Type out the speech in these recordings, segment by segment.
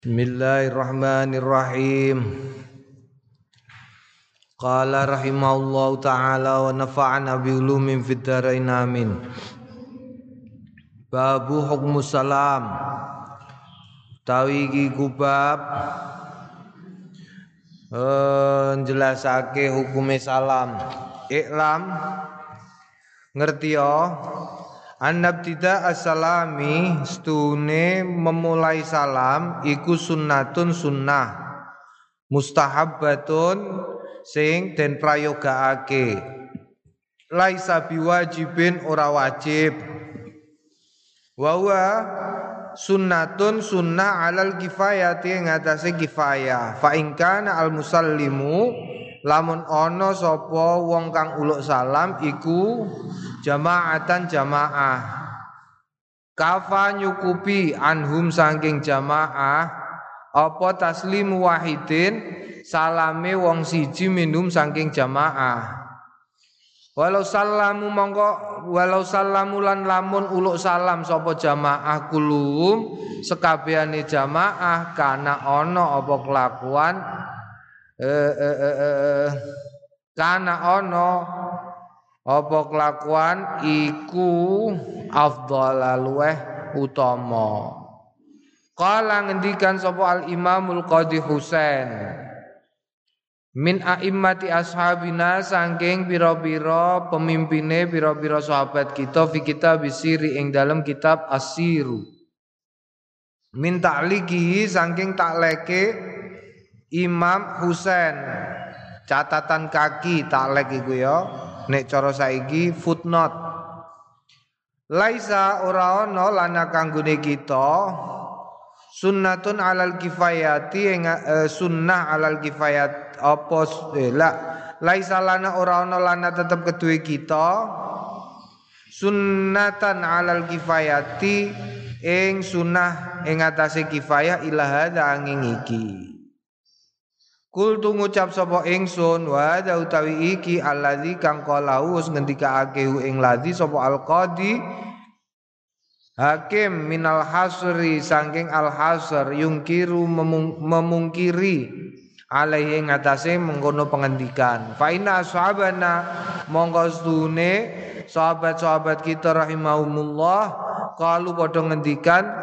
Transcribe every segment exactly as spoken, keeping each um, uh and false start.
Bismillahirrahmanirrahim. Qala rahimahullahu ta'ala wa nafa'ana bi ulumin fid dharain amin. Babu hukmu salam. Tawi iki kubab eh njelasake hukume salam. Iklam ngerti ya. Annabtida as-salami stune memulai salam iku sunnatun sunnah mustahabbatun sing den prayogaake laisa biwajibin ora wajib wa huwa sunnatun sunnah alal kifayati ngatasé kifayah fa in kana al musallimu lamun ana sapa wong kang uluk salam iku jamaatan jamaah kafa nyukupi anhum saking jamaah apa taslimu wahidin salame wong siji minum saking jamaah walau salamu mongko walau salamu lan lamun uluk salam sapa jamaah kulum sekabehane jamaah kana ana apa kelakuan eh eh eh, eh kana ana apa kelakuan iku afdhala luweh utama. Qala ngendikan sapa al Imamul Qadhi Husain min a'immati ashabina saking pira-pira pemimpine pira-pira sahabat kita fi kitab siri ing dalam kitab As-Siru min ta'liqihi saking takleke Imam Husain catatan kaki taklek iku ya. Nek cara saiki footnote laisa ora ana lana kanggone kita sunnatun alal kifayati ing uh, sunnah alal kifayat apa eh, la laisa lana ora ana lana tetep keduwe kita sunnatan alal kifayati ing sunnah ing atase kifayah ila hadza angin iki. Kul tu ngucap sapa ingsun wa da utawi iki allazi kang qalahu ngendikaake ing ladzi sapa al-qadi hakim minal hasri saking al-hasr yungkiru memung, memungkiri alaihi ngatasé mengkono pengendikan fa inna ashabana monggo stune sahabat-sahabat kita rahimahumullah qalu padha ngendikan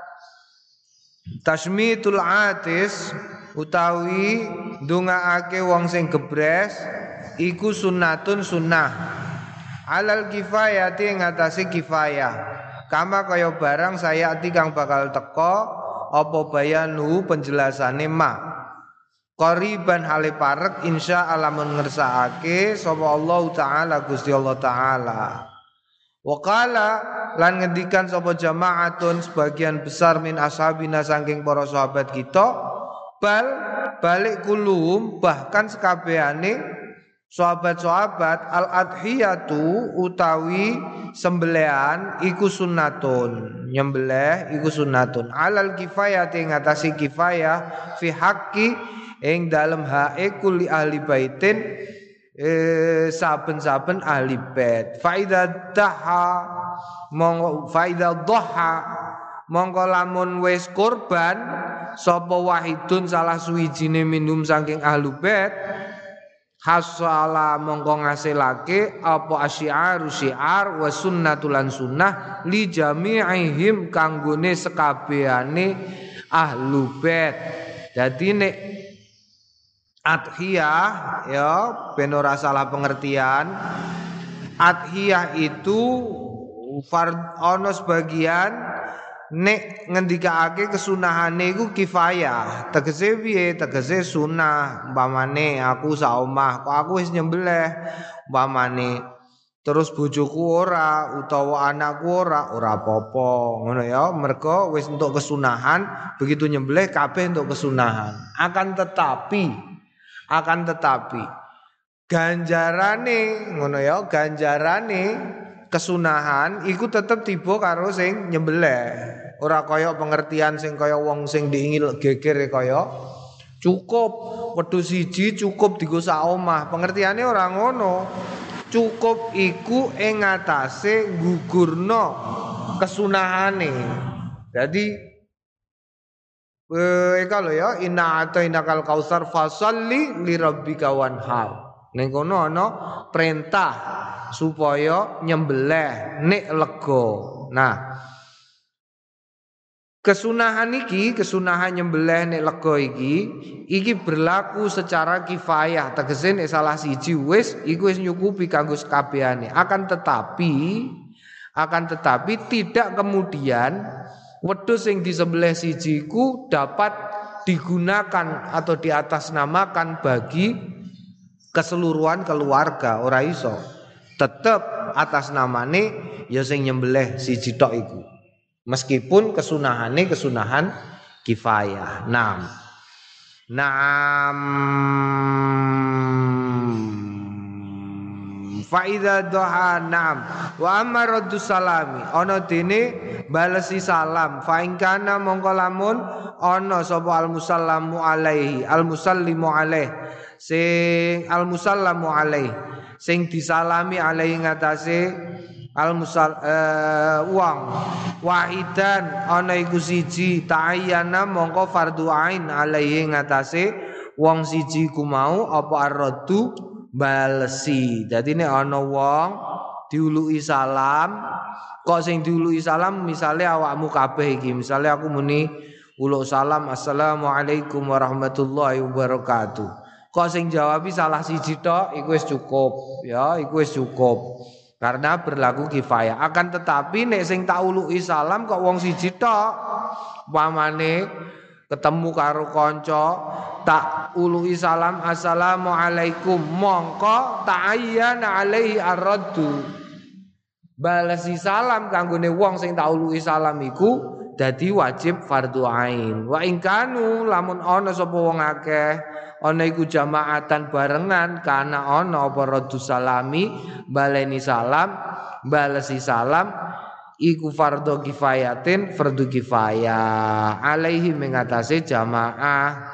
tasmitul atis utawi ndongaake wong sing gebres iku sunnatun sunnah alal kifayati ngatasi kifayah kama kaya barang saya ati kang bakal teka apa bayanu penjelasane ma qariban hale parek insya Allah mun ngersakake sapa Allah taala Gusti Allah taala wa qala lan ngendikan sapa jamaatun sebagian besar min ashabina saking para sahabat kita bal balik kulum bahkan sekabehane sahabat-sahabat al adhiyatu utawi sembelihan iku sunnatun nyembelih iku sunnatun alal kifayati ngatasi kifayah fi haqqi ing dalem hae kuli ahli baitin eh, saben-saben ahli bait faida daha monggo faida dhaha monggo lamun wis kurban sapa wahidun salah suwijine minum saking ahlu bait hasala mongko ngasilake apa asyiaru syiar wa sunnatul lan sunnah li jami'ihim kanggone sekabehane ahlu bait. Dadi nek adhiyah ya ben ora salah pengertian adhiyah itu fard ono sebagian nek ngendikaake kesunahane iku kifayah tegese piye tegese sunah umpamane aku sak omah kok aku wis nyembelih umpamane terus bojoku ora utawa anakku ora ora apa-apa ngono ya mergo wis entuk kesunahan begitu nyembelih kabeh entuk kesunahan akan tetapi akan tetapi ganjarane ngono ya ganjarane kesunahan iku tetep tiba karo sing nyembelih ora kaya pengertian sing kaya wong sing diingil geger kaya cukup wedhus siji cukup dienggo sak omah pengertiane ora ngono cukup iku ing ngatasé gugurna kesunahane. Jadi Eh kalau ya inna atainakal kausar fasalli li rabbika wanhar. Ning kono ana perintah supaya nyembelih nek lega. Nah, kesunahan iki, kesunahan nyembelih nek lega iki, iki berlaku secara kifayah. Tegese nek salah siji wis iku wis nyukupi kanggo sakabehane. Akan tetapi akan tetapi tidak kemudian wedhus sing disembelih siji ku dapat digunakan atau diatasnamakan bagi keseluruhan keluarga, ora iso. Tetep atas namane ya sing nyembelih siji tok iku. Meskipun kesunahane kesunahan kifayah. Naam. Naam. Faida doha naam wa amma raddu salami ana dene balesi salam fa in kana mongko lamun ana sapa al musallamu alaihi al musallimu alaih sing al musallamu alaih sing disalami alaihi ngatasé al musal uh, wong wahidan ana iku siji ta'ayyana mongko fardhu ain alaihi ngatasé wong siji ku mau apa ar-raddu balesi. Jadi nek ana wong diuluki salam, kok sing diuluki salam misale awakmu kabeh iki, misale aku muni uluk salam assalamualaikum warahmatullahi wabarakatuh. Kok sing jawabi salah siji tok iku wis cukup, ya, iku wis cukup. Karena berlaku kifayah. Akan tetapi nek sing tak uluki salam kok wong siji tok, pamane ketemu karo kanca tak uluhi salam assalamualaikum mongko ta'ayyana alaihi ar-raddu balesi salam kanggone wong sing tak uluhi salam iku dadi wajib fardhu ain wa in kanu lamun ana sapa wong akeh ana iku jamaatan barengan kana ana apa raddu salami baleni salam balesi salam iku fardhu kifayatin fardhu kifayah alaihi mengatasi jamaah.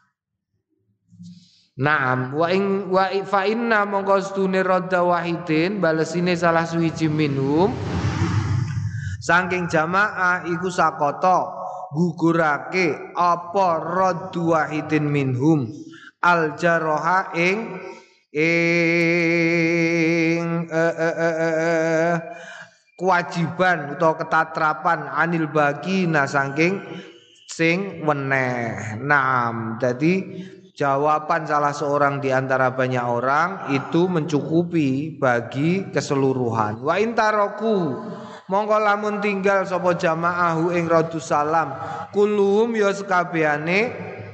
Naam wa in wa fa inna mongko stune radda wahidin balesine salah suwiji minhum saking jamaah iku sakota gugurake apa raddu wahidin minhum al jaroha ing ing eh, eh, eh, eh, kewajiban atau ketatrapan anil bagi nah saking sing weneh. Naam, jadi jawaban salah seorang di antara banyak orang itu mencukupi bagi keseluruhan. Wa intaroku mongko lamun tinggal sapa jamaahu ing radus salam kulum ya sekabehane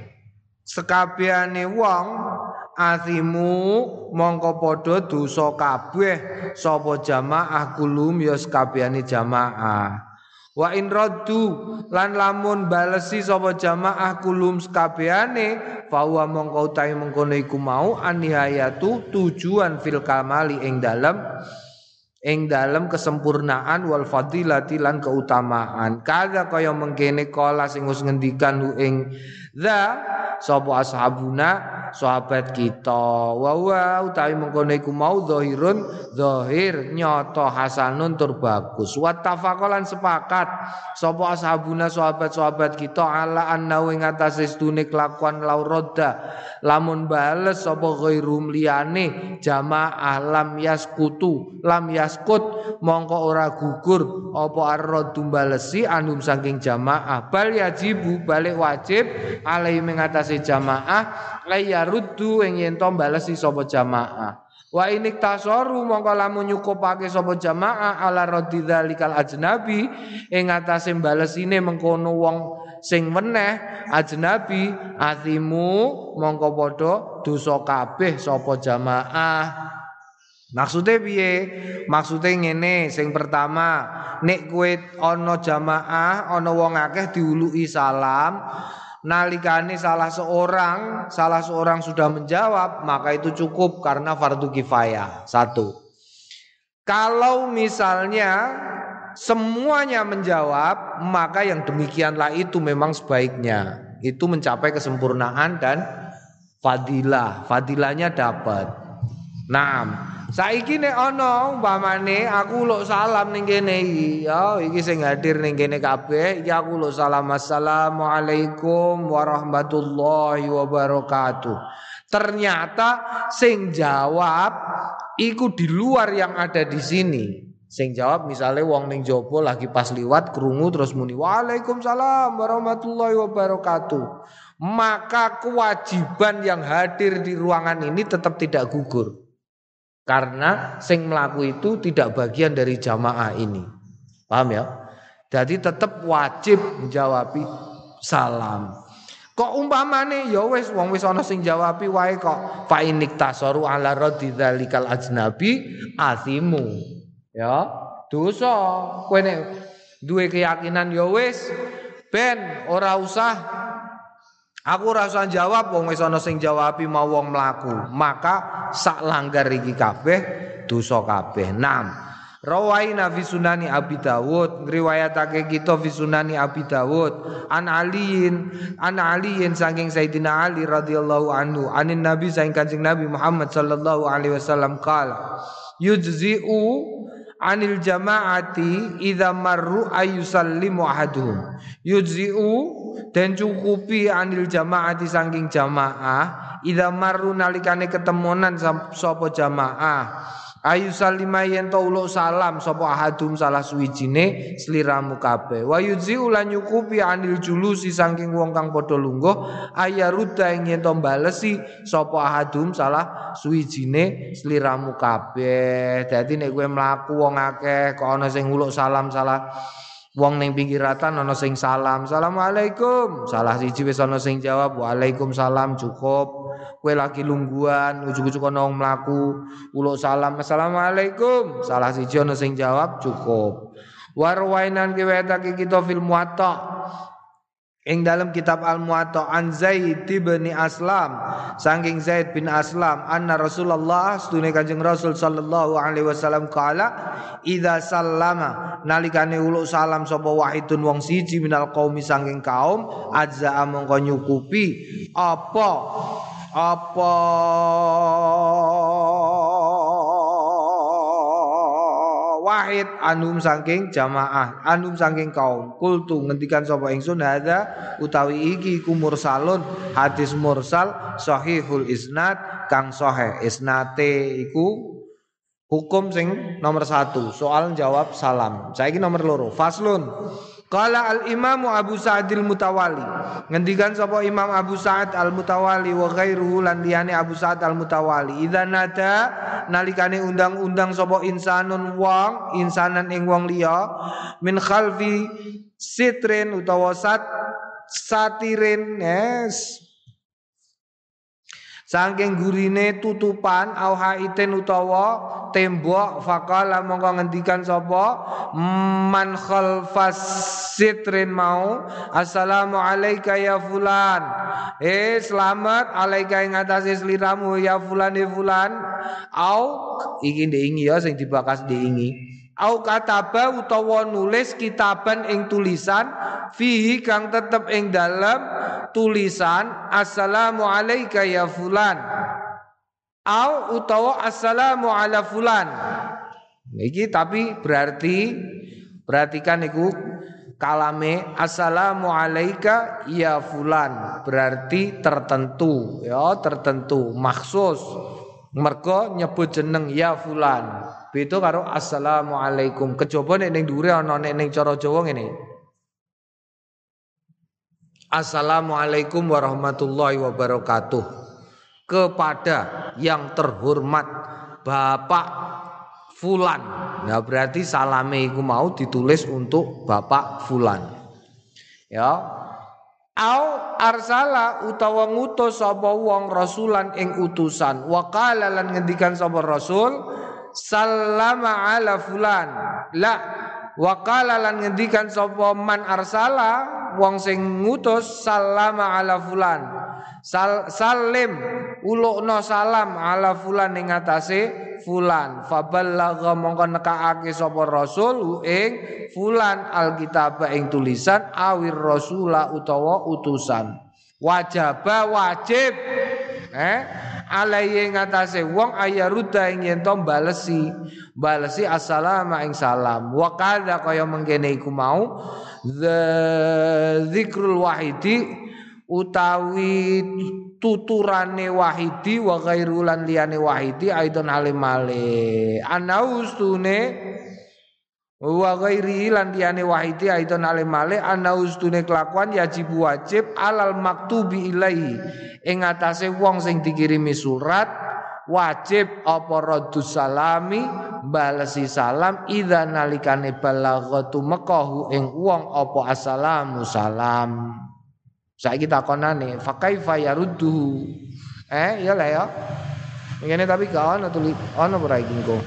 sekabehane wong asimu mongko padha dosa kabeh sapa jamaah kulum ya sekabehane jamaah. Wa in raddu lan lamun balesi sapa jamaah kulum sekabehane fa wa mongko utahe mengkono iku mau anihayatu tujuan fil kamali ing dalem ing dalem kesempurnaan wal fadilati lan keutamaan. Kaga kaya mengkene kala sing wis ngendikan ing za sapa ashabuna sahabat kita wa wa utawi mengkono iku mau zahirun zahir nyata hasanun tur bagus wa tafaqalan sepakat sapa ashabuna sahabat-sahabat kita ala anna ing atase stune kelakuan laurodda lamun bales sapa ghairum liyane jamaah lam yaskutu lam yaskut mongko ora gugur apa ar-raddu balesi anum saking jamaah bal yajibu balik wajib alai mengatasi jamaah layaruddu ing yen to balesi sapa jamaah wa inik tasoru mongko lamun nyukupake sapa jamaah ala raddi dzalikal ajnabi ing atase balesine mengkono wong sing meneh ajnabi azimu mongko padha dosa kabeh sapa jamaah. Maksudnya piye? Maksudnya ngene, sing pertama, nek kowe ana jamaah, ana wong akeh diuluki salam, nalikane salah seorang, salah seorang sudah menjawab, maka itu cukup karena fardu kifayah. Satu. Kalau misalnya semuanya menjawab, maka yang demikianlah itu memang sebaiknya. Itu mencapai kesempurnaan dan fadilah. Fadilahnya dapat. Naam. Saiki nek ana umpamane aku uluk salam ning kene iki, ya iki sing hadir ning kene kabeh, iki aku uluk salam assalamualaikum warahmatullahi wabarakatuh. Ternyata sing jawab iku di luar yang ada di sini. Sing jawab misalnya wong ning jopo lagi pas liwat krungu terus muni waalaikumsalam warahmatullahi wabarakatuh. Maka kewajiban yang hadir di ruangan ini tetap tidak gugur. Karena sing melaku itu tidak bagian dari jamaah ini. Paham ya? Jadi tetap wajib menjawabi salam. Kok umpamane ya wis wong wis ana sing jawabi wae kok fa inik tasaru ala radidzalikal ajnabi azimu. Ya, dosa. Kowe nek duwe keyakinan ya wis ben ora usah aku ora usah jawab wong wis ana sing jawabi mau wong mlaku. Maka sak langgar iki kabeh dosa kabeh. enam. Rawaina fi sunani Abi Dawud, ngriwayatake kita fi sunani Abi Dawud an aliin an aliin saking Sayyidina Ali radhiyallahu anhu anin Nabi saking Kanjeng Nabi Muhammad sallallahu alaihi wasallam qala yujzi'u anil jama'ati idza marru ayusallimu ahaduhum yujzi'u dan cukupi anil jama'ati saking jamaah idza marru nalikane ketemunan sapa jamaah ayu salima yen to uluk salam sapa ahadum salah suwijine sliramu kabeh wa yudzi ulan nyukupi anil julusi saking wong kang padha lungguh ayaruda yen to balesi sapa ahadum salah suwijine sliramu kabeh. Dadi nek kowe mlaku wong akeh kok ana sing uluk salam salah wong ning pinggiratan ana sing salam assalamualaikum salah siji wis ana sing jawab waalaikumsalam cukup. Kowe lagi lungguhan ujug-ujug ana wong mlaku uluk salam assalamualaikum salah siji ana sing jawab cukup. Warwainan kiwetake kita fil muwatta ing dalam kitab Al Muwatta an Zaid bin Aslam saking Zaid bin Aslam anna Rasulullah sedune Kanjeng Rasul sallallahu alaihi wasallam kala idza sallama nalikane uluk salam sapa wahidun wong siji minal qaumi saking kaum azza mongko nyukupi apa apa wahid anum saking jamaah anum saking kaum kultu ngendikan sapa ingsun hadza utawi iki iku mursalun hadis mursal sahihul isnad kang sahih isnate iku hukum sing nomor satu soal jawab salam. Saiki nomor loro faslun qala al imamu Abu Sa'id al Mutawali ngendikan sapa Imam Abu Sa'id al Mutawali wa ghairuhu lan liyane Abu Sa'id al Mutawali idza nada nalikane undang-undang sapa insanun wong insanan ing wong liya min khalfi sitrin utawa sat satirin yes saking gurine tutupan au haiten utawa tembok faqala mongko ngendikan sapa man khalfas sitrin mau assalamu alayka ya fulan eh selamat alaika ing atase sliramu ya fulan e fulan au iki ndingi ya sing dibakas ndingi au kataba utawa nulis kitaban ing tulisan fihi kang tetep ing dalem tulisan assalamu alayka ya fulan au utawa assalamu ala fulan. Iki tapi berarti perhatikan iku kalame assalamu alayka ya fulan berarti tertentu ya tertentu maksus mergo nyebut jeneng ya fulan beda karo assalamualaikum kejaba nek ning dhuwure ana nek ning cara Jawa ngene assalamualaikum warahmatullahi wabarakatuh kepada yang terhormat Bapak fulan. Nah berarti salame iku mau ditulis untuk Bapak fulan ya au arsala utawa ngutus sapa wong rasulan ing utusan wa qala lan ngendikan sapa rasul sallama ala fulan la wa qala lan ngendikan sapa man arsala wong sing ngutus sallama ala fulan Sal, salim ulukna salam ala fulan ing atase fulan faballagha mongko nekaake sapa rasul ing fulan alkitab ing tulisan awir rasula utawa utusan wajaba wajib eh alaihi ngatasé wong ayaruda ing yen to balesi balesi assalamu ing salam wa kadha kaya mengkene iku mau dzikrul wahidi utawi tuturane wahidi wa ghairulan liyane wahidi aidon halimale anaustune wa ghairi lan liyane wahidi aidon halimale anaustune kelakuan yajib wajib alal maktubi ilaihi ing atase wong sing dikirimi surat wajib apa raddus salami balesi salam idza nalikane balaghatu mekahu ing wong apa assalamu salam. Saiki takonane fa kaifa yaruddu eh ya lah ya ngene tapi gak ono tuli ono ora iki engko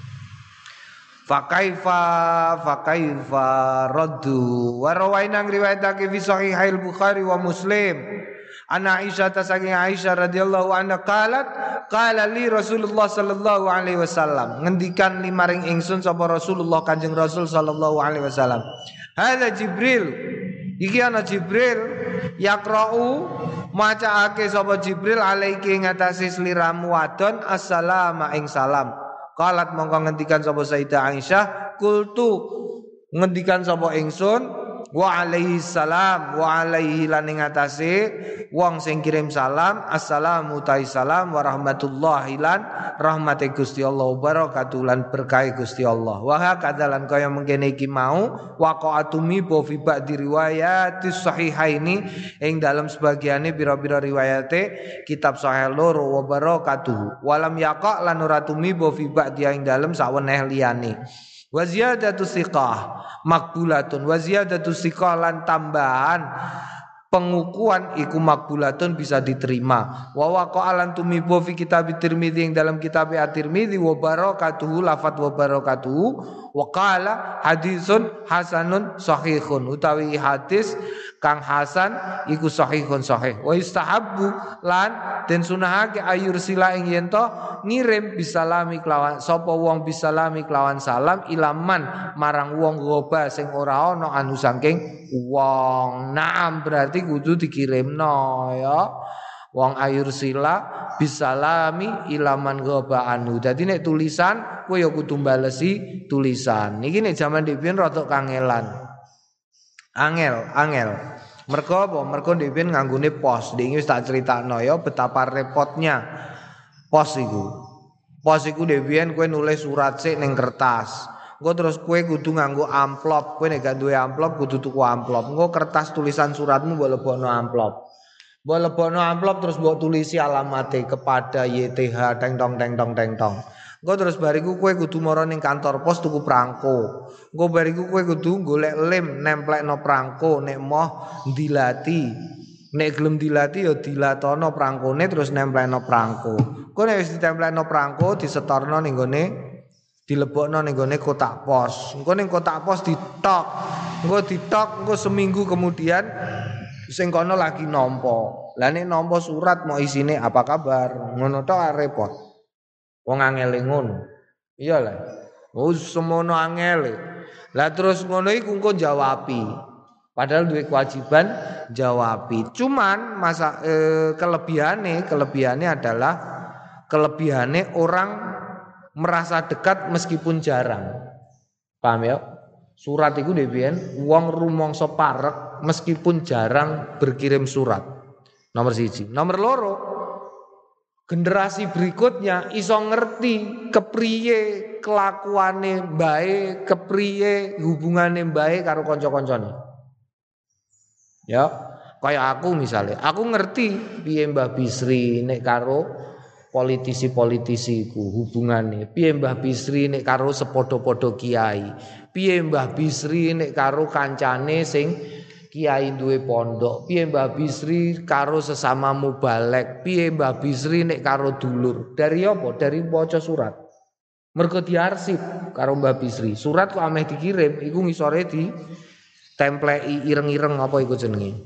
fa kaifa fa kaifa raddu wa rawaina riwayatake fi sahihil Bukhari wa Muslim ana Aisyah saking Aisyah radhiyallahu anha qalat qala li Rasulullah sallallahu alaihi wasallam ngendikan limaring ingsun sapa Rasulullah Kanjeng Rasul sallallahu alaihi wasallam hadza Jibril iki ana Jibril yaqra'u macaake sapa Jibril alaiki ngatasi sliramu wadon assalamu ing salam qalat mongko ngendikan sapa Sayyidah Aisyah kultu ngendikan sapa ingsun wa alaihi salam wa alaihi lan ing atase wong sing kirim salam assalamu ta'i salam wa rahmatullahi lan rahmate Gusti Allah wa barakatuh lan berkah Gusti Allah wa hakadzalan kaya mengkene iki mau waqa'atumi bo fi ba'di riwayatis sahihaini ing dalam sebagiane pira-pira riwayate kitab sahih loro wa barakatuh walam yaqa lan ora tumi bo fi ba'di ing dalam saweneh liyane wa ziyadatu siqah makbulatun wa ziyadatu siqah lan tambahan pengukuhan iku makbulatun bisa diterima wa waqa'alan tumibo fi kitab Tirmidzi ing dalam kitab At-Tirmidzi wa barakatuhu lafat wa barakatuhu wa qala hadisun hasanun sahihun utawi hadis kang hasan iku sahihun sahih wa istahabbu lan den sunahake ayur sila ing yen to ngirim bisalami kelawan sapa wong bisalami kelawan salam ilaman marang wong goba sing ora ana anu saking wong naam berarti kudu dikirimno ya wong ayur sila bisalami ilaman goba anu dadi nek tulisan kowe ya kudu balesi tulisan iki nek jaman dhewe rada kangelan angel angel mergo apa mergo dhewe nganggone pos iki wis tak critakno ya betapa repotnya pos iku pos iku dhewe kowe nulis surat sik ning kertas engko terus kowe kudu nganggo amplop kowe nek gak duwe amplop kudu tuku amplop engko kertas tulisan suratmu mbok lebokno amplop mbok lebokno amplop terus mbok tulisi alamate kepada Y T H teng tong teng tong teng tong engko terus bariku kowe kudu mara ning kantor pos tuku prangko engko bariku kowe kudu golek lem nemplekno prangko nek moh dilati nek gelem dilati ya dilatono prangkone terus nemplekno prangko engko nek wis ditemplekno prangko disetorno ning gone dilebokno ning gone kotak pos engko ning kotak pos ditok engko ditok engko seminggu kemudian sing kono lagi nampa lah nek nampa surat mau isine apa kabar ngono tok repot wong angele ngono iya lah oh semono angele lah terus ngono iku engko jawabi padahal duwe kewajiban jawabi cuman masa eh, kelebihane kelebihane adalah kelebihane orang merasa dekat meskipun jarang paham ya surat iku dhewean wong rumangsa parek meskipun jarang berkirim surat nomor siji nomor loro generasi berikutnya iso ngerti kepriye kelakuane mbae, kepriye hubungane mbae karo kanca-kancane. Ya, kaya aku misalnya, aku ngerti piye Mbah Bisri nek karo politisi-politisi iku hubungane, piye Mbah Bisri nek karo sepodo-podo kiai, piye Mbah Bisri nek karo kancane sing kiai duwe pondok, piye Mbah Bisri karo sesama mubalek, piye Mbah Bisri nek karo dulur. Dari apa? Dari maca surat. Mergo diarsip karo Mbah Bisri. Surat kok ameh dikirim, iku ngisore di templeki ireng-ireng apa iku jenenge.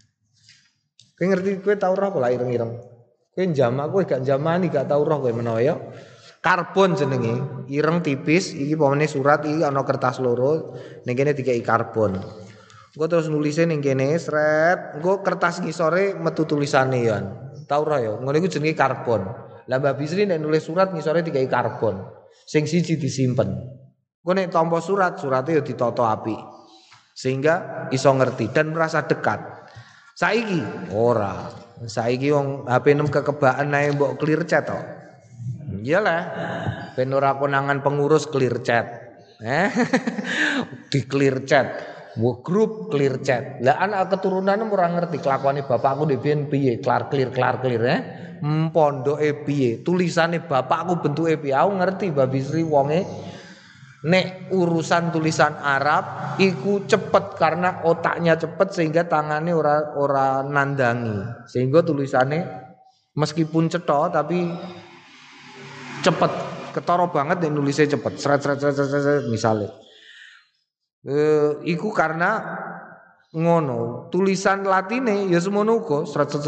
Kowe ngerti kowe tau roh pola ireng-ireng. Kowe jamak kowe gak jamani gak tau roh kowe menawa ya. Karbon jenenge, ireng tipis, iki pamane surat iki ana kertas loro, ning kene dikeki karbon. Engko terus nulise ning kene sret, engko kertas ngisore metu tulisane ya. Tau ora ya, ngono iku jenenge karbon. Lah Mbah Bisri nek nulis surat ngisore dikai karbon. Sing siji disimpen. Engko nek tampa surat, surate ya ditata apik. Sehingga iso ngerti dan merasa dekat. Saiki ora. Saiki wong H P enam kekebaan ae mbok clear chat to. Iyalah. Ben ora konangan pengurus clear chat. Eh? Di clear chat. Wo grup clear chat. Lah anak keturunan ora ngerti kelakuane bapakku ndek biyen piye, klar clear klar clear eh. Pondoke piye, tulisane bapakku bentuke piye. Aku ngerti Mbah Bisri wonge nek urusan tulisan Arab iku cepet karena otaknya cepet sehingga tangannya ora ora nandangi. Sehingga tulisannya meskipun cetha tapi cepet, ketara banget nek nulisnya cepet. Sret sret sret sret misale. Eh, iku karena ngono tulisan Latine ya semono uga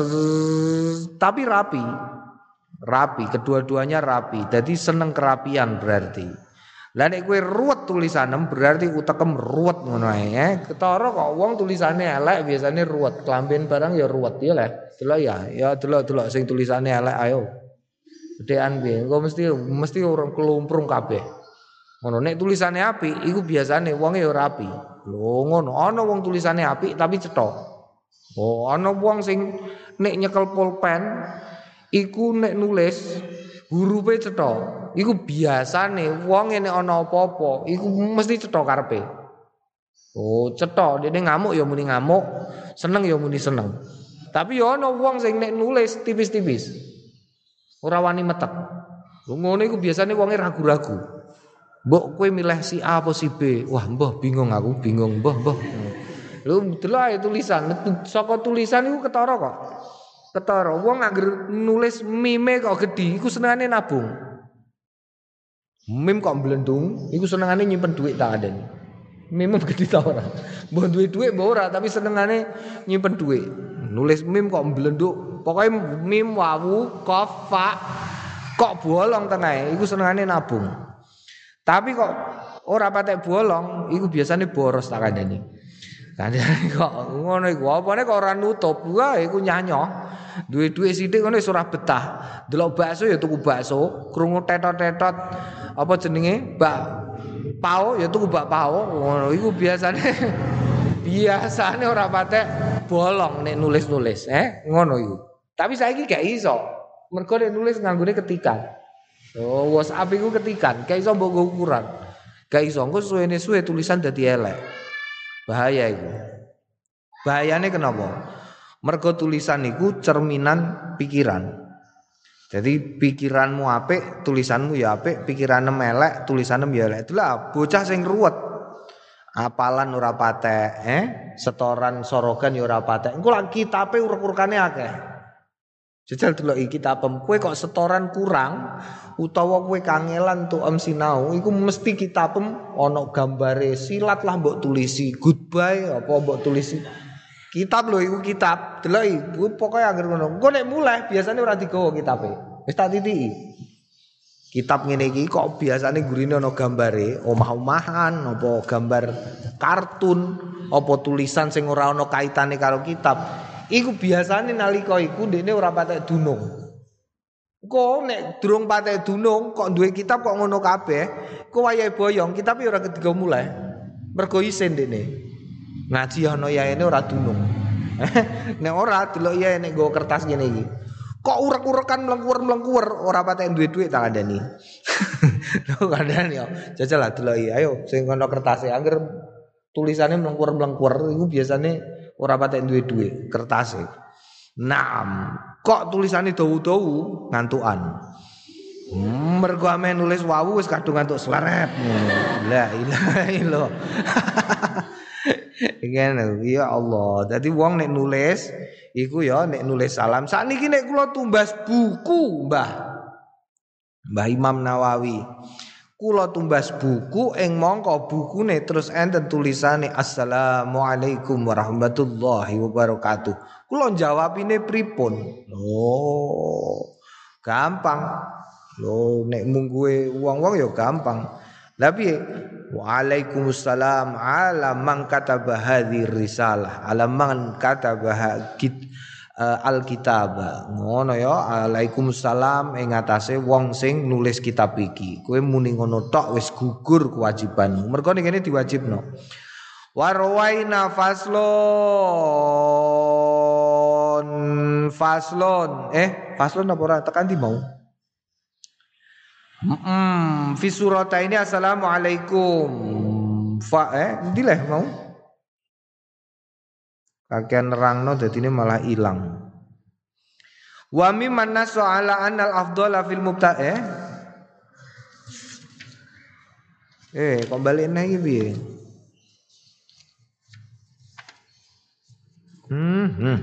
tapi rapi rapi kedua-duanya rapi jadi seneng kerapian berarti lah nek kowe ruwet tulisanem berarti utekem ruwet ngono ae eh ketara kok wong tulisane elek biasane ruwet klamben barang ya ruwet ya lah delok ya ya delok-delok sing tulisane elek ayo gedean piye engko mesti mesti orang kelumprung kabeh ngono nek tulisane apik iku biasane wonge ya rapi. Lho ngono ana wong tulisane apik tapi cetha. Oh ana wong sing nek nyekel pulpen iku nek nulis hurufe cetha. Iku biasane wong nek ana apa-apa iku mesti cetha karepe. Oh cetha dene ngamuk ya muni ngamuk, seneng ya muni seneng. Tapi ya ana wong sing nek nulis tipis-tipis. Ora wani metek. Lho ngono iku biasane wonge ragu-ragu. Mbok kowe milih si A apa si B? Wah, mbah bingung aku, bingung, mbah, mbah. Lho delok ae tulisan, saka tulisan iku ketara kok. Ketara wong anggere nulis mime kok gedhi, iku senengane nabung. Mim kok blendung, iku senengane nyimpen dhuwit tak adeni. Mim gedhi ta ora? Mbah duwe dhuwit mbah ora, tapi senengane nyimpen dhuwit. Nulis mim kok blenduk, pokoke mim wawu qaf fa kok bolong tenae, iku senengane nabung. Tapi kok ora patek bolong, iku biasane boros tak kandhani. Kandhani kok ngono iku, apane kok ora nutup. Wah, iku nyanyoh. Duwe dhuwit sithik ngono wis ora betah. Delok bakso ya tuku bakso, krungu tetot-tetot apa jenenge? Bak pao ya tuku bak pao. Ngono iku biasane biasane ora patek bolong nek nulis-nulis, eh? Ngono iku. Tapi saiki gak iso. Mergo nek nulis nganggone ketikan. Oh, WhatsApp iku ketikan, gak iso mbok ukuran. Gak iso, engko suwene suwe tulisan dadi elek. Bahaya iku. Bahayane kenapa? Mergo tulisan iku cerminan pikiran. Jadi pikiranmu apik, tulisanmu ya apik, pikiranmu elek, tulisanmu ya elek. Itulah bocah sing ruwet. Apalan ora patek, eh? Setoran sorogan ya ora patek. Engko lak kitabe urek-urekane akeh. Jajal delok iki kitabem, kowe kok setoran kurang utawa kowe kangelan tuh em sinau, iku mesti kitabem ana gambare silat lah mbok tulisi goodbye apa mbok tulisi. Kitab lho iku kitab, delok iki pokoke anggere ngono. Engko nek mulai biasane ora digawa kitabe. Wis tak titiki. Kitab ngene iki kok biasane gurine ana gambare omah-omahan apa gambar kartun apa tulisan sing ora ana kaitane karo kitab. Iku biasane nalika iku ndekne ora patek dunung. Kok nek durung patek dunung kok duwe kitab kok ngono kabeh, kok wayahe boyong kitab ora ketiga mulai. Mergo isin ndekne. Ngaji ana yaene ora dunung. Nek ora delok yae nek nggo kertas ngene iki. Kok urek-urekan mlengkuwer-mlengkuwer ora patek duwe dhuwit tak kandhani. Lho kandhani yo. Jajal lah delok iki. Ayo sing ana kertase angger tulisane mlengkuwer-mlengkuwer iku biasane ora patek duwe dhuwit kertase. Naam, kok tulisane dawu-dawu ngantukan. Hmm, mergo ame nulis wawu wis kadung ngantuk sleret. La ilaha illallah. Ingene ya Allah. Dadi wong nek nulis iku ya nek nulis salam. Sakniki nek kula tumbas buku, Mbah. Mbah Imam Nawawi. Kula tumbas buku ing mangka bukune terus enten tulisane Assalamualaikum warahmatullahi wabarakatuh. Kula jawabine pripun? Oh, gampang. Lho nek mungguhe wong-wong ya gampang. Lah piye? Waalaikumsalam ala man kataba hadhir risalah. Ala man kataba uh, alkitab. Ngono ya, Waalaikumsalam ing atase wong sing nulis kitab iki. Kowe muni ngono tok wis gugur kewajibanmu. Mergo ning kene diwajibno. Warwaina faslon faslon eh faslon apa ora tekan di mau. Heeh, fi surata ini assalamualaikum. Fa eh ndileh mau. Kakean nerangno dadine malah ilang. Wa mimman nasu ala annal afdhala fil mubta eh Eh kok balikne iki piye? Hmm. hmm.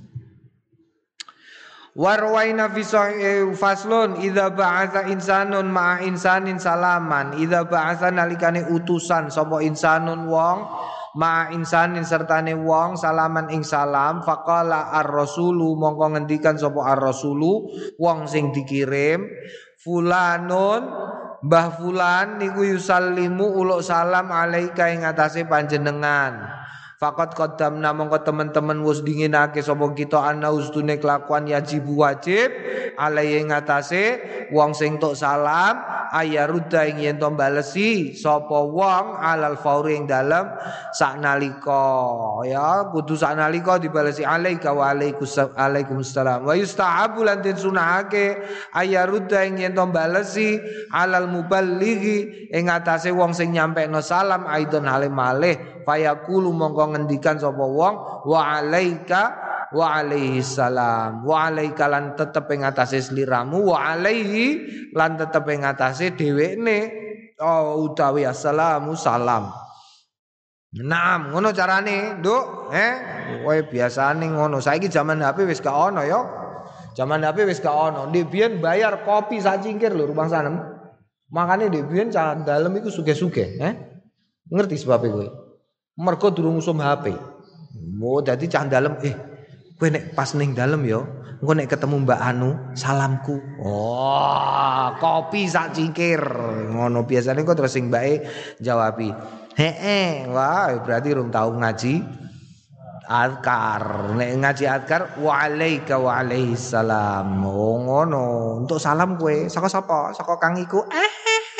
Warwaina fi sahih faslun idza ba'atha insanun ma'a insanin salaman idza ba'atha nalikane utusan sapa insanun wong ma'a insanin sertane wong salaman ing salam faqala ar-rasulu mongko ngendikan sapa ar-rasulu wong sing dikirim fulanun mbah fulan niku yusallimu uluk salam alaika ing atase panjenengan. Fakat qaddamna mongko teman-teman wis dinginake sapa kita ana ustune kelakuan yajib wajib alai ing atase wong sing tok salam ayarudha ing yen to balesi sapa wong alal fauri ing dalem saknalika ya kudu saknalika dibalesi alaika wa alaikumussalam wa yustahabu lan den sunahake ayarudha ing yen to balesi alal muballighi ing atase wong sing nyampekno salam aidon hale malih fayaqulu mongko ngendikan sapa wong wa alaika wa alaihi salam wa alaika lan tetep ing atase sliramu wa alaihi lan tetep ing atase dhewekne oh utawi assalamu salam. Naam ngono carane nduk eh kowe biasane ngono saiki zaman H P wis gak ono ya zaman H P wis gak ono ndek biyen bayar kopi sak cingkir lho rumah sanem makane ndek biyen cara dalem iku sugih-sugih eh ngerti sebab kowe mergo durung usum H P. Mo dadi cah dalem eh kowe nek pas ning dalem ya, engko nek ketemu Mbak Anu, salamku. Oh, kopi sak cingkir. Ngono biasane kok terus sing mbake jawabi. Heeh, wah berarti rum tau ngaji azkar. Nek ngaji azkar wa alaika wa alaihi salam. Oh ngono. Untuk salam kowe saka sapa? Saka Kang Iku. Eh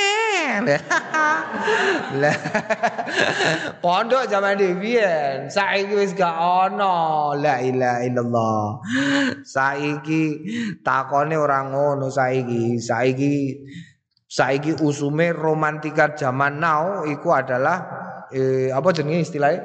lah pondok zaman dhewe saiki wis gak ono la ilaha illallah saiki takone ora ngono saiki saiki saiki usume romantika zaman now iku adalah eh, apa jenenge istilahnya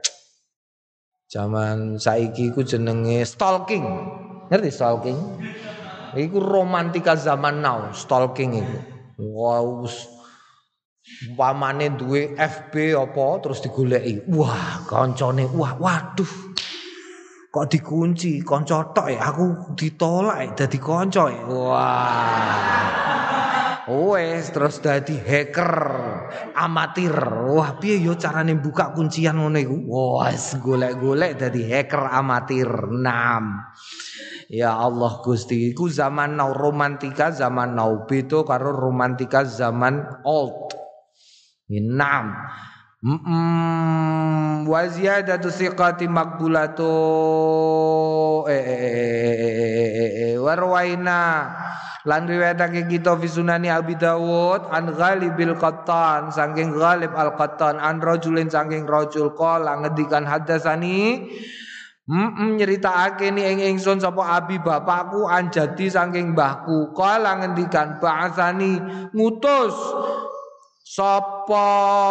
zaman saiki iku jenenge stalking ngerti stalking iku romantika zaman now stalking iku wow pamane duwe F B apa terus digoleki. Wah, kancane wah waduh. Kok dikunci kanca tok ya aku ditolak dadi kanca. Wah. Wes terus dadi hacker amatir. Wah, piye yo carane buka kuncian ngono iku? Wes golek-golek dadi hacker amatir. Enam. Ya Allah Gusti, iku zaman now romantika zaman now beda karo romantika zaman old. Enam. Mm wa ziyadatu siqati maqbulatu eh warwaina lan riwayatake kita fi sunani Abi Dawud an Ghalibil Qattan saking Ghalib Al-Qattan an rajulin saking rajul qala ngendikan hadasani mm nyeritakake ni ing ingsun sapa abi bapakku anjadi saking mbahku qala ngendikan ba'atsani ngutus sapa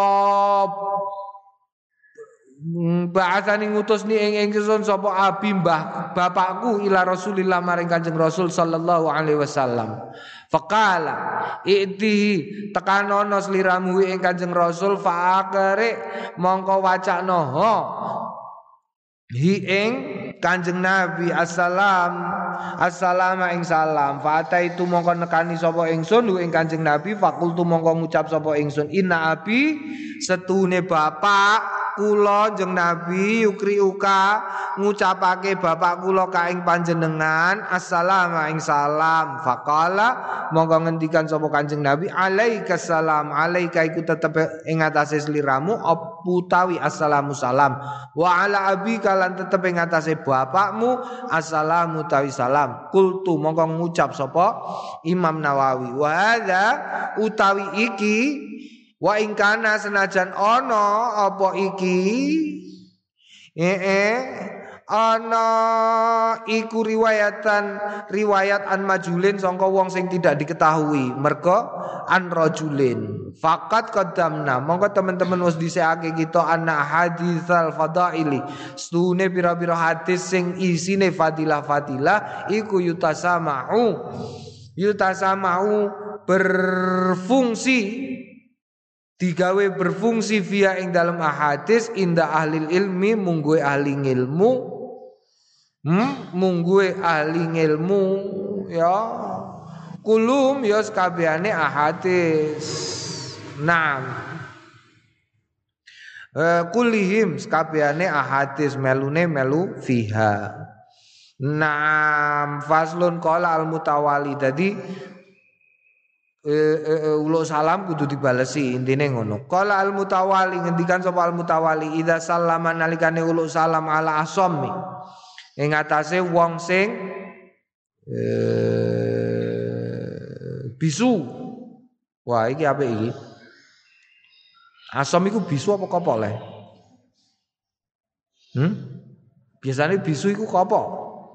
ba'atsani ngutus ni ing ingsun sapa abi mbah bapakku ila Rasulillah maring Kanjeng Rasul sallallahu alaihi wasallam faqala i'tihi tekanono sliramu ing Kanjeng Rasul fa'akare mongko wacana ho hi ing Kanjeng Nabi assalam assalamu ing salam fata itu mongko nekani sapa ingsun ing Kanjeng Nabi fakultu mongko ngucap sapa ingsun inna abi setune bapak kula jeng Nabi yukri uka ngucapake bapak kula ka ing panjenengan assalamu ing salam. Faqala monggo ngendikan sapa Kanjeng Nabi alaikas salam. Alaika iku tetep ing atase sliramu utawi assalamu salam. Wa ala abika lan tetep ing atase bapakmu assalamu utawi salam. Kultu monggo ngucap sapa Imam Nawawi wa hadza utawi iki wa ing kana senajan ana apa iki eh eh ana iku riwayatan riwayat an majulin sangka wong sing tidak diketahui merga an rajulin faqat qaddamna monggo teman-teman wis dhisikake kita ana haditsal fadaili stune pira-pira hadis sing isine fadilah-fadilah iku yutasamau yutasamau berfungsi digawe berfungsi via ing dalam ahadis inda ahli ilmi mungguwe ahli ilmu hmm? mungguwe ahli ilmu ya kulum ya sekabehane ahadis naam e, kulihim sekabehane ahadis melune melu fiha naam faslun qala al mutawali dadi Uh, uh, uh, ulo salam kudu dibalesi intine ngono. Qala al mutawali ngendikan sapa al mutawali idza sallama nalikane ulo salam ala asammi ing atase wong sing uh, bisu. Wah iki apik iki. Asam iku bisu apa kopok le? Hmm? Biasane bisu iku kopok.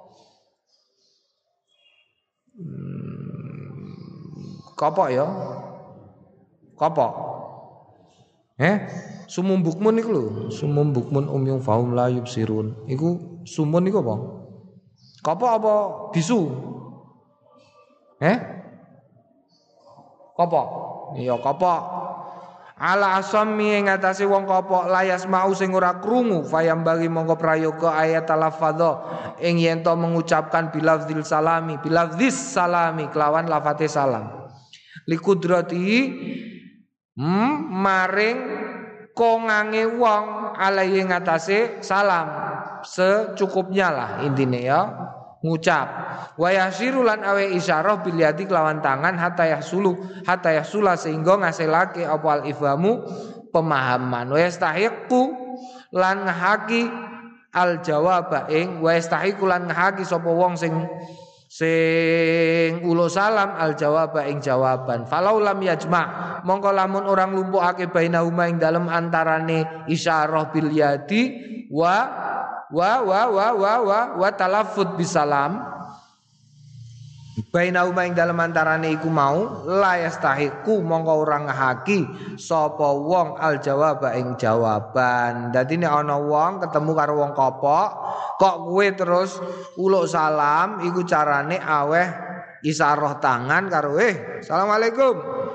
Kopok ya. Kopok. Eh, sumum bukmun iku lho, sumum bukmun umyung faum la yubsirun. Iku sumun iku apa? Kopok apa bisu? Eh? Kopok. Iya, kopok. Ala asammi ing atase wong kopok layas mau sing ora krungu fayam bagi mongko prayoga ayat talafadha ing yen to mengucapkan bilafzil salami bilafzis salami kelawan lafate salam. Likudrati hmm, maring kongange wong alai ngatasé salam secukupnya lah intine ya ngucap wa yasiru lan awe isyarah bil yadi kelawan tangan hatta yahsulu hatta yahsula sehingga ngasilake apa al ifhamu pemahaman wa yastahiqu lan ngahaki al jawab ing wa yastahiqu lan ngahaki sapa wong sing sing ulo salam al jawab ing jawaban falau lam yajma mongko lamun orang lumpuhake bainahuma ing dalem antarane isyarah bil yadi wa wa wa wa wa wa, wa talaffuz bisalam bainahuma ing dalem antarane iku mau la yastahiqu mongko ora ngahaki sapa wong al jawab ing jawaban. Dadi nek ana wong ketemu karo wong kopok kok kowe terus uluk salam iku carane aweh isyarah tangan karo eh asalamualaikum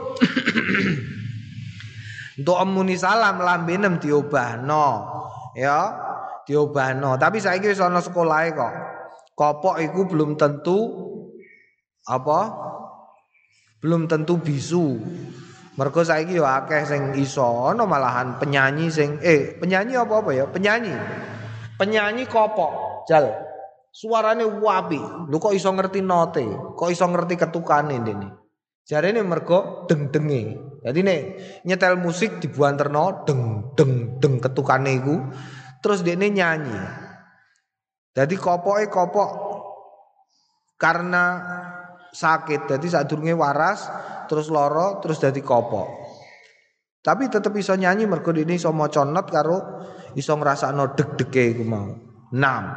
untuk muni salam lambenem diobahno ya diobahno tapi saiki wis ana sekolahe kok kopok iku belum tentu apa belum tentu bisu mergo saiki yo akeh sing iso ana malahan penyanyi sing eh penyanyi apa apa ya penyanyi penyanyi kopok jal suarane wapi lho kok iso ngerti note kok iso ngerti ketukane ndene jarene mergo deng-denge dadi nek nyetel musik dibuanterno deng deng deng ketukane iku terus dekne nyanyi dadi kopoke kopok karena sakit dadi sadurunge waras terus loro terus dadi kopok tapi tetep iso nyanyi mergo dekne iso maca not karo iso ngrasakno deg-dege iku mau. Naam.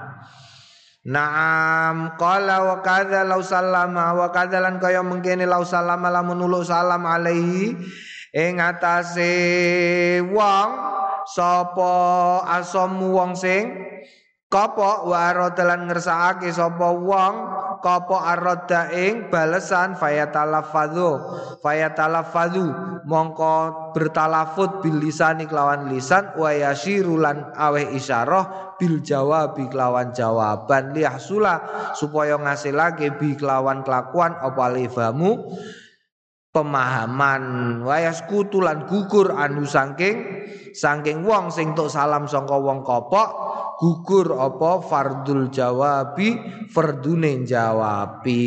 Naam qala wa kadza law sallama wa kadzalan kaya mengkene law sallama lamun uluk salam alaihi ing atase wong sapa asamu wong sing kopok wa aradalan ngersakake sapa wong kopok arada ing balesan fayatalafadhu fayatalafadhu mongko bertalafut bil lisani kelawan lisan wa yashirulan aweh isyarah bil jawabi kelawan jawaban liyahsula supaya ngasilake bi kelawan kelakuan apa alifamu pemahaman wayas kutulan gugur anu saking saking wong sing tok salam sangka wong kopok gugur apa fardul jawabi fardune jawabi.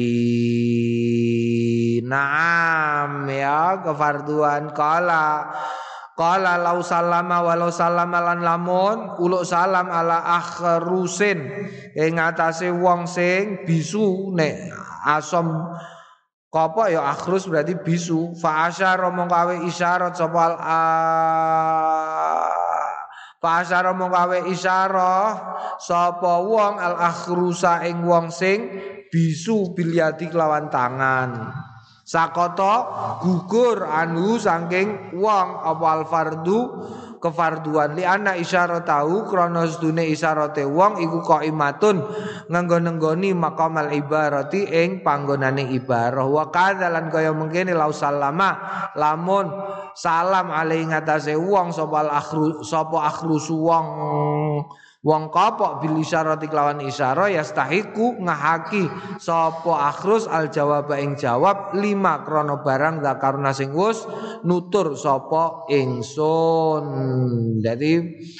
Naam ya kefarduan kala Qala lau salama walau salama lan lamun uluk salam ala akhrusin ing atase wong sing bisu nek asom kopok ya akhrus berarti bisu fa asyara mongko awe isyarat sapa al fa asyara mongko awe isyarah sapa wong al akhrusa ing wong sing bisu bilyati kelawan tangan. Sakoto gugur anu saking wong apa al fardu kefarduan li ana isyarat tahu krana sedune isyarate wong iku qaimatun nganggo nenggoni maqamal ibarati ing panggonane ibarah wa kadzalan kaya mengkene lau salama lamun salam alai ngatasé wong sapa al akhru sapa akhrusu wong wong kopok bil isyarati kelawan isyarah yastahiku ngahaki sapa akhrus al jawab ing jawab lima krana barang zakarna sing wis nutur sapa ingsun. Jadi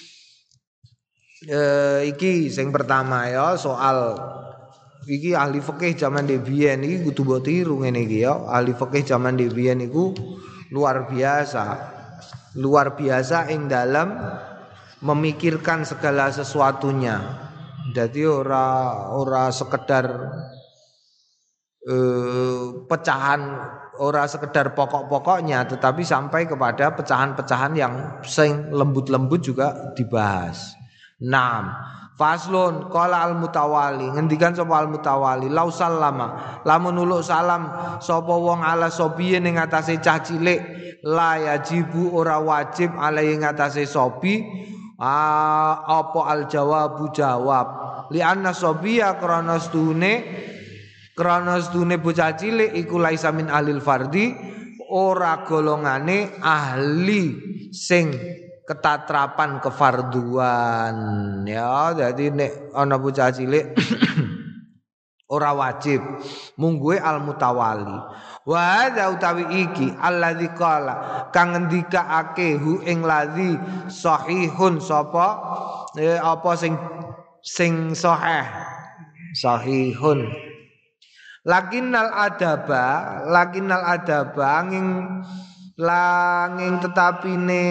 eh, iki sing pertama ya soal iki ahli fikih zaman dhebiyen iki kudu mbok tiru ngene iki ya. Ahli fikih zaman dhebiyen iku luar biasa. Luar biasa ing dalam memikirkan segala sesuatunya. Jadi ora ora sekedar eh, pecahan, ora sekedar pokok-pokoknya, tetapi sampai kepada pecahan-pecahan yang sing lembut-lembut juga dibahas. Naam. Faslun qala al mutawali ngendikan sapa al mutawali lau sallama lamun uluk salam sapa wong ala sobiye ning atase cah cilik la yajibu ora wajib ala ing atase sobi ah, apa al jawabu jawab li anna sobiya krana stune krana stune bocah cilik iku laisa min ahlil fardi ora golongane ahli sing ketatrapan kefarduan ya. Jadi nek ana bocah cilik ora wajib mungguhe al mutawali wa hadza utawi iki alladzi qala kang ngendikaake hu ing ladzi sahihun sapa eh, apa sing sing sahih sahihun lakinnal adaba lakinnal adaba angin langing tetapine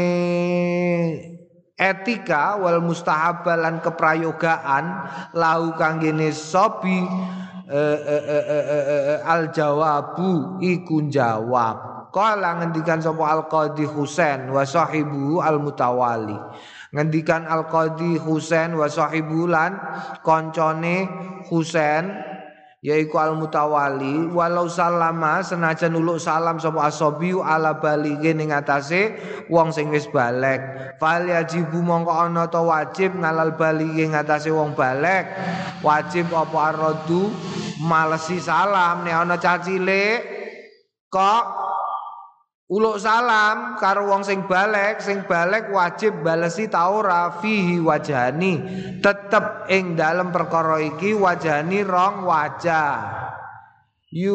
etika wal mustahabalan keprayogaan lahu kanggene sobi eh, eh, eh, eh, eh, al jawabu iku jawab qala ngendikan sapa al qadhi Husain wa sahibu al mutawali ngendikan al qadhi Husain wa sahibu lan koncone Husain yaiku al mutawali walau salama senajan uluk salam sapa asobiu ala balighe ning atase wong sing wis balek fal yajibu mongko ana ta wajib ngalal balighe ing atase wong balek wajib apa aradu malesi salam nek ana cah cilik kok uluk salam karo wong sing balek sing balek wajib balesi ta ora fihi wajani tetep ing dalem perkara iki wajani rong wajah yu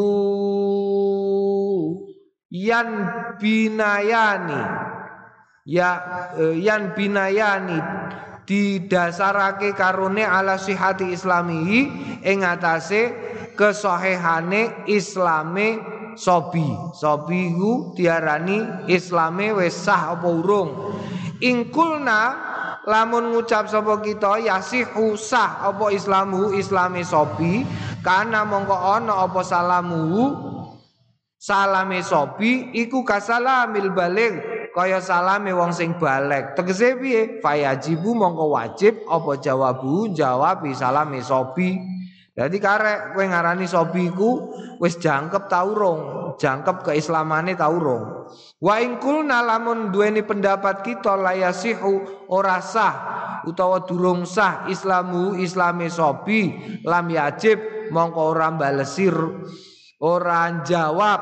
yan binayani ya eh, yan binayani didasarake karone ala sihati islamihi ing atase kesahihane islame sobi sobi ku diarani islame wis sah apa urung ingkulna lamun ngucap sapa kita yasihu sah apa islamu islame sobi kana mongko ana apa salamu salame sobi iku kasalamil baligh kaya salame wong sing balek tegese piye fayajibu mongko wajib apa jawabu jawab salame sobi. Jadi karek kowe ngarani sobi ku wis jangkep ta urung, jangkep keislamane ta urung. Wa in kulna lamun duweni pendapat kita layasihu ora sah utawa durung sah islamu islame sobi lam yajib mongko ora balesir ora jawab.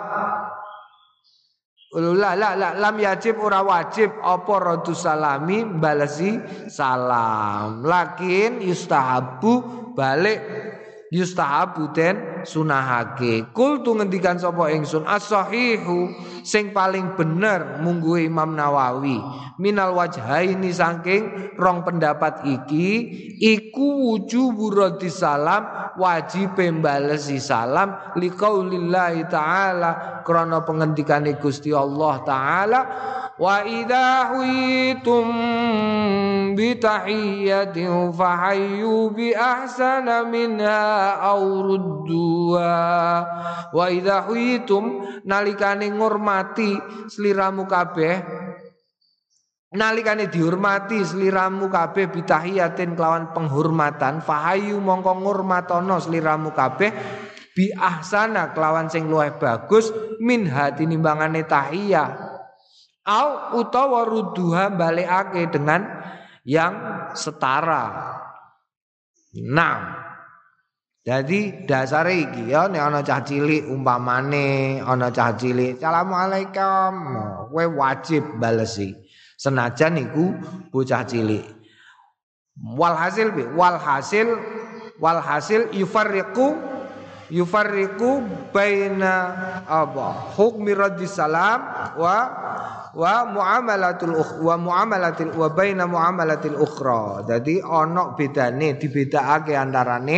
La la la lam yajib ora wajib apa radu salami balesi salam. Lakin yustahabu balik yustahabu den sunahake. Kul tu ngendikan sapa ingsun as-sahihu sing paling bener munggu Imam Nawawi minal wajhaini saking rong pendapat iki iku wujubu raddi salam wajib mbalesi salam liqaulillahi ta'ala krana pengendikane Gusti Allah taala wa idza huyitum bi tahiyyatin fahayyu bi ahsana minha aw rudduha wa idza huyitum nalikane ngurmati sliramu kabeh nalikane dihormati sliramu kabeh bitahiyatin kelawan penghormatan fahayu mongko ngurmatono sliramu kabeh bi ahsana kelawan sing luwih bagus min hati nimbangane tahiyah au utawa rudduha balikake dengan yang setara. Nah, jadi dasar iki ya nek ana cah cilik umpamane ana cah cilik assalamualaikum kowe wajib balesi senajan iku bocah cilik. Walhasil bi walhasil walhasil yufarriqu yufarriqu baina apa hukmi raddi salam wa wa muamalatul wa muamalatil wa baina muamalatil ukhra. Jadi ana bedane dibedakake antarane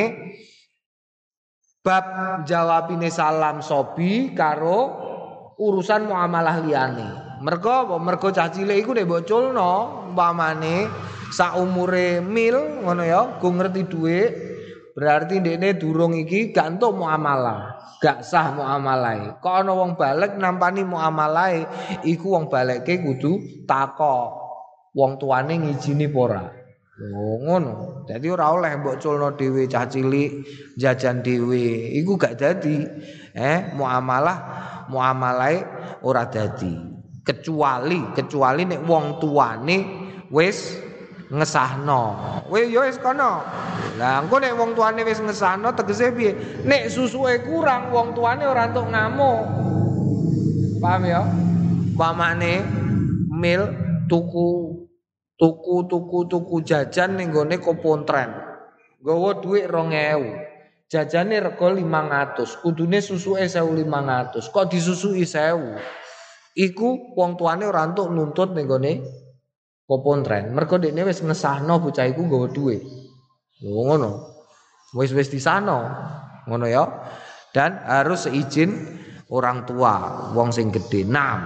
bab jawabine salam sobi karo urusan muamalah liyane. Mergo apa? Mergo cah cilik iku nek mbok culno umpamane sak umure mil ngono ya, go ngerti dhuwit, berarti ndekne durung iki gak entuk muamalah, gak sah muamalahe. Kok ana wong balik nampani muamalahe, iku wong balekke kudu takok wong tuane ngijini apa ora. Oh ngono. Dadi ora oleh mbok culno dhewe cah cilik jajan dhewe. Iku gak dadi. Eh muamalah muamalahe ora dadi. Kecuali kecuali nek wong tuane wis ngesahno. Wis ya wis kono. Lah engko nek wong tuane wis ngesahno tegese piye? Nek susuke kurang wong tuane ora entuk ngamuk. Paham ya? Pamane mil tuku tuku tuku tuku jajan ning gone Kopontren. Nggawa dhuwit rong ewu. Jajane rego limang atus, kudune susuke sewu limang atus. Kok disusui sewu? Iku wong tuane ora entuk nuntut ning gone Kopontren. Mergo dekne wis ngesahno bocah iku nggawa dhuwit. Lho ngono. Wis-wis disano. Ngono ya. Dan harus seizin orang tua, wong sing gedhe. Naam.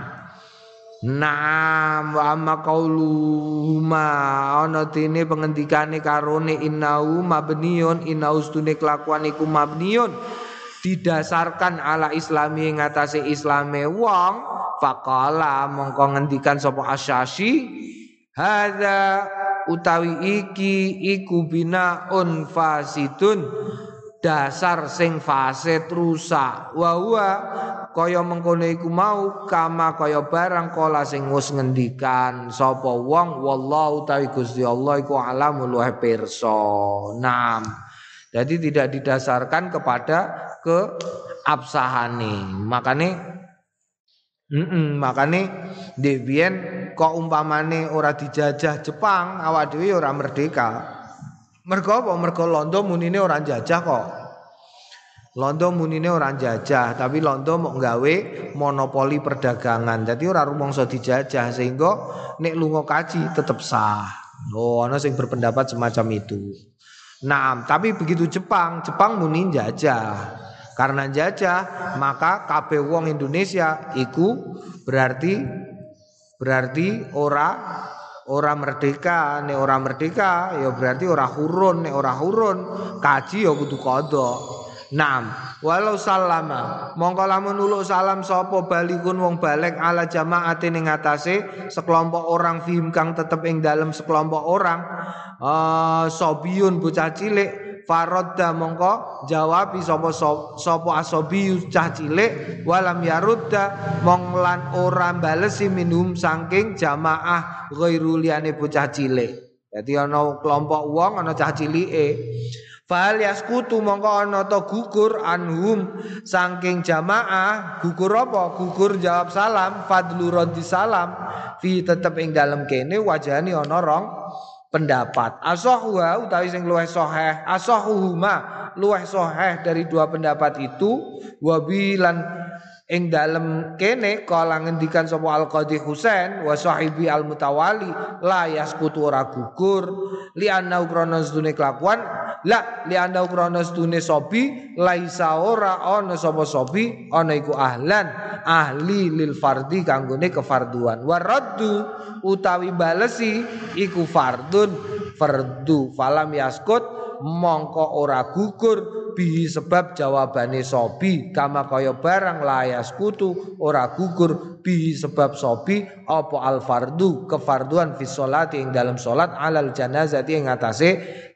Naam wa amma qauluhuma ana dene pengendikane karone innahu mabniun innahu stune kelakuan iku mabniun didasarkan ala islami ing atase islame wong faqala mongko ngendikan sapa Asy-Syafi'i hadza utawi iki iku binaun fasidun dasar sing fasid rusak wa huwa kaya mengkono iku mau kama kaya barang kala sing wis ngendikan sapa wong wallahu ta'ala Gusti Allah iku alamul wa pirsa. Naam. Jadi tidak didasarkan kepada keabsahane. Makane heeh makane ndek biyen kok umpamane ora dijajah Jepang awak dhewe ora merdeka. Mergo apa? Mergo Londo munine ora jajah kok. Londo munine ora jajah, tapi Londo mau gawe monopoli perdagangan. Jadi ora rumangsa dijajah sehingga nek lunga kaji tetep sah. Oh, ana sing berpendapat semacam itu. Nah, tapi begitu Jepang, Jepang muni jajah. Karena jajah, maka kabeh wong Indonesia iku berarti berarti ora ora merdeka. Nek ora merdeka ya berarti ora hurun, nek ora hurun kaji ya kudu qadha. Naam, walau salama mongko lamun nuluk salam sapa balikun wong balik ala jama'ate ning atase sekelompok orang fihim kang tetep ing dalem sekelompok orang uh, sobiun bocah cilik farodda mongko jawabi sapa sapa asobiyu cah cilik walam yarudda monglan ora balesi minhum saking jamaah ghairu liyane bocah cilik. Dadi ana kelompok wong ana cah cilike fal yaskutu mongko ana ta gugur anhum saking jamaah gugur apa gugur jawab salam fadlu raddi salam fi tetep ing dalem kene wajane ana rong pendapat asahuha utawi sing luwih sahih asahuhuma luweh sahih dari dua pendapat itu wabilan ing dalem kene kala ngendikan sapa Al-Qadhi Husain wa sahibi al-mutawali la yaskutu ora gugur li anna krana sedune kelakuan la li anna krana sedune sobi laisa ora ana sapa sobi ana iku ahlan ahli lil fardhi kanggone kefarduan waraddu utawi balesi iku fardun fardu falam yaskut mongko ora gugur bihi sebab jawabane sobi kama kaya barang layas kutu ora gugur bihi sebab sobi apa al fardu kefarduan fi sholati ing dalam salat alal janazati ing atase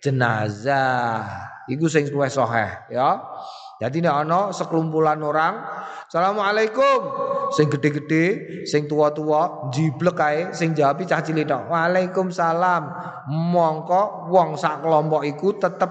jenazah iku sing luwih sahih ya. Jadi nek ana sekelumpulan orang Assalamualaikum sing gede-gede sing tua-tua jiblek kae sing jawab cah cilik tok Waalaikumsalam mongko wong sak kelompok iku tetep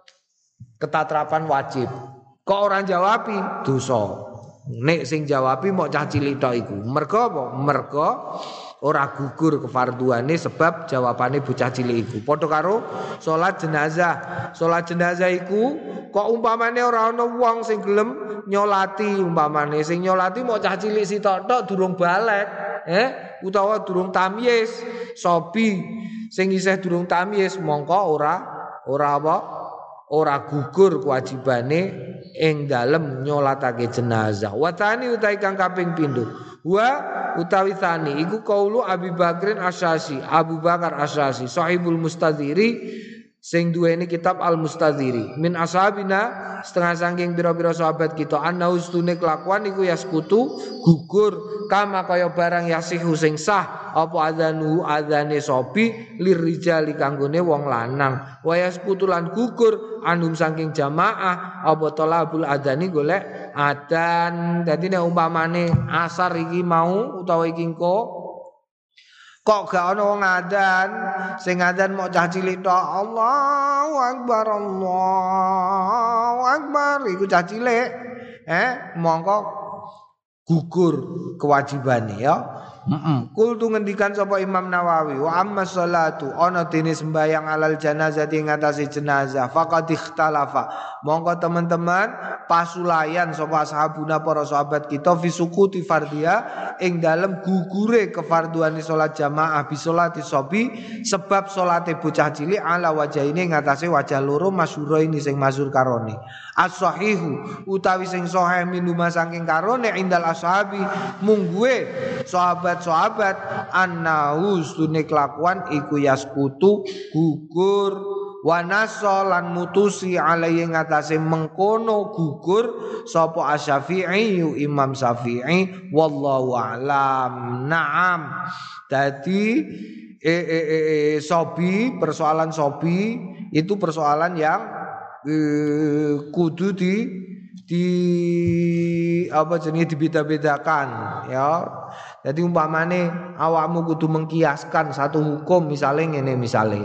ketatrapan wajib kok orang jawabi dosa nek sing jawabi mok cah cilik tok iku mergo apa mergo ora gugur kefarduane sebab jawabane bocah cilik iku padha karo salat jenazah salat jenazah iku kok umpamane ora ana wong sing gelem nyolati umpamane sing nyolati mok cah cilik sitok tok durung balik eh utawa durung tamyiz sobi sing isih durung tamyiz mongko ora ora apa ora gugur kewajibane ing dalem nyolatake jenazah watani utawi kang kaping pindho wa utawi tani iku kaulu Abi Bakrin Asyasi Abu Bakar Asyasi sahibul mustadhiri sing duweni kitab Al-Mustadhiri min ashabina setengah saking pira-pira sahabat kita ana ustune kelakuan iku yaskutu gugur kama kaya barang yasihu sing sah apa adzanu adzane sobi lirijali kanggone wong lanang wa yaskutu lan gugur anum saking jamaah apa talabul adzani golek adzan dadi nek umpamane asar iki mau utawa iki engko kok gak ana wong adzan sing adzan mok cah cilik tok Allahu akbar Allahu akbar iku cah cilik eh mongko gugur kewajibane ya heeh kul tu ngendikan sapa Imam Nawawi wa amma sholatu ana dene sembayang alal janazati ing atase jenazah faqad ikhtalafa mongko teman-teman pasulayan sapa ashabuna para sahabat kita fi sukuti fardhiya ing dalem gugure kefarduane salat jamaah bi sholati sobi sebab salate bocah cilik ala wajhaine ing atase wajah loro masyhur ini sing masyhur karone as-sahihu utawi sing sahih minuma saking karone indal ashabi mungguwe sahabat-sahabat annahu stune kelakuan iku yaskutu gugur wanasa lan mutusi alaihi ngatasé mengkono gugur sapa Asy-Syafi'i Imam Syafi'i wallahu a'lam na'am dadi e, e, e, e, sobi persoalan sobi itu persoalan yang e, kudu di di apa jenenge dibeda-bedakan ya. Jadi umpamane awakmu kudu mengkiaskan satu hukum misalnya ngene misale.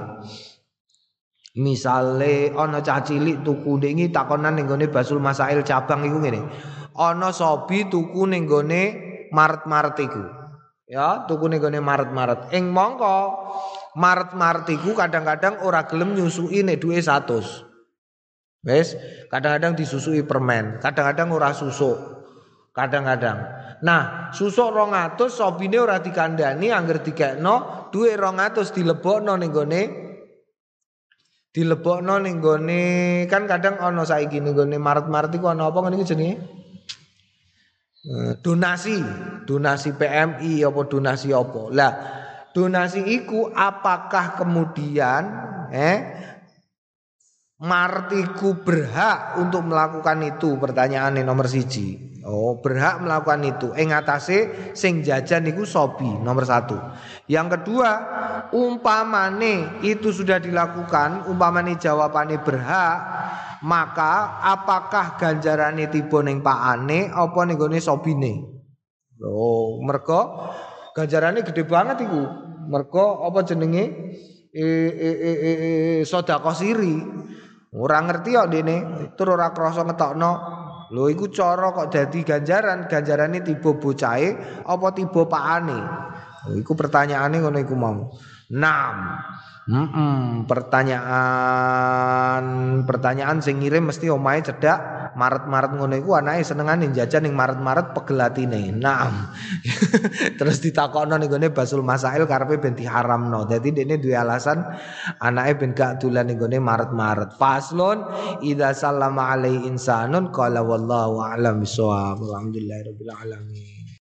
Misale ana cah cilik tuku ning takonan ning gone Basul Masail cabang iku ngene. Ana sobi tuku ning gone Maret-Maret iku. Ya, tuku ning gone Maret-Maret. Ing mongko Maret-Maret iku kadang-kadang ora gelem nyusui nek duwe seratus. Wes, kadang-kadang disusui permen, kadang-kadang ora susuk. Kadang-kadang. Nah, susuk rong atus sobine ora dikandani angger dikekno duwe rong atus dilebokno ning gone dilebokno ning gone kan kadang ana saiki ning gone Maret-Maret iku ana apa ngene iki jenenge? Donasi, donasi P M I apa donasi apa. Lah, donasi iku apakah kemudian eh Martiku berhak untuk melakukan itu pertanyaannya nomor siji. Oh berhak melakukan itu. Ing atase sing jajan iku sobi nomor satu. Yang kedua umpamane itu sudah dilakukan, umpamane jawabannya berhak, maka apakah ganjarane tiba ning pakane apa ning gone sobine? Oh mergo ganjarane gede banget iku. Mergo apa jenenge e e e, e, e sedekah siri. Ora ngerti kok dene, tur ora krasa ngetokno. Lho iku cara kok dadi ganjaran, ganjarane tiba bocahe apa tiba pakane. Lho iku pertanyaane ngono iku mau. Naam. Hmm, pertanyaan pertanyaan sing ngirim mesti omahe cedhak Maret-Maret ngono iku anake senengane jajan ning Maret-Maret pegel atine. Naam. Terus ditakokno ning gone Basul Masail karepe ben diharamno. Dadi dekne duwe alasan anake ben gak dolan ning gone Maret-Maret. Faslun idza sallama alai insanun qala wallahu a'lam bissawab. Alhamdulillahirabbil alamin.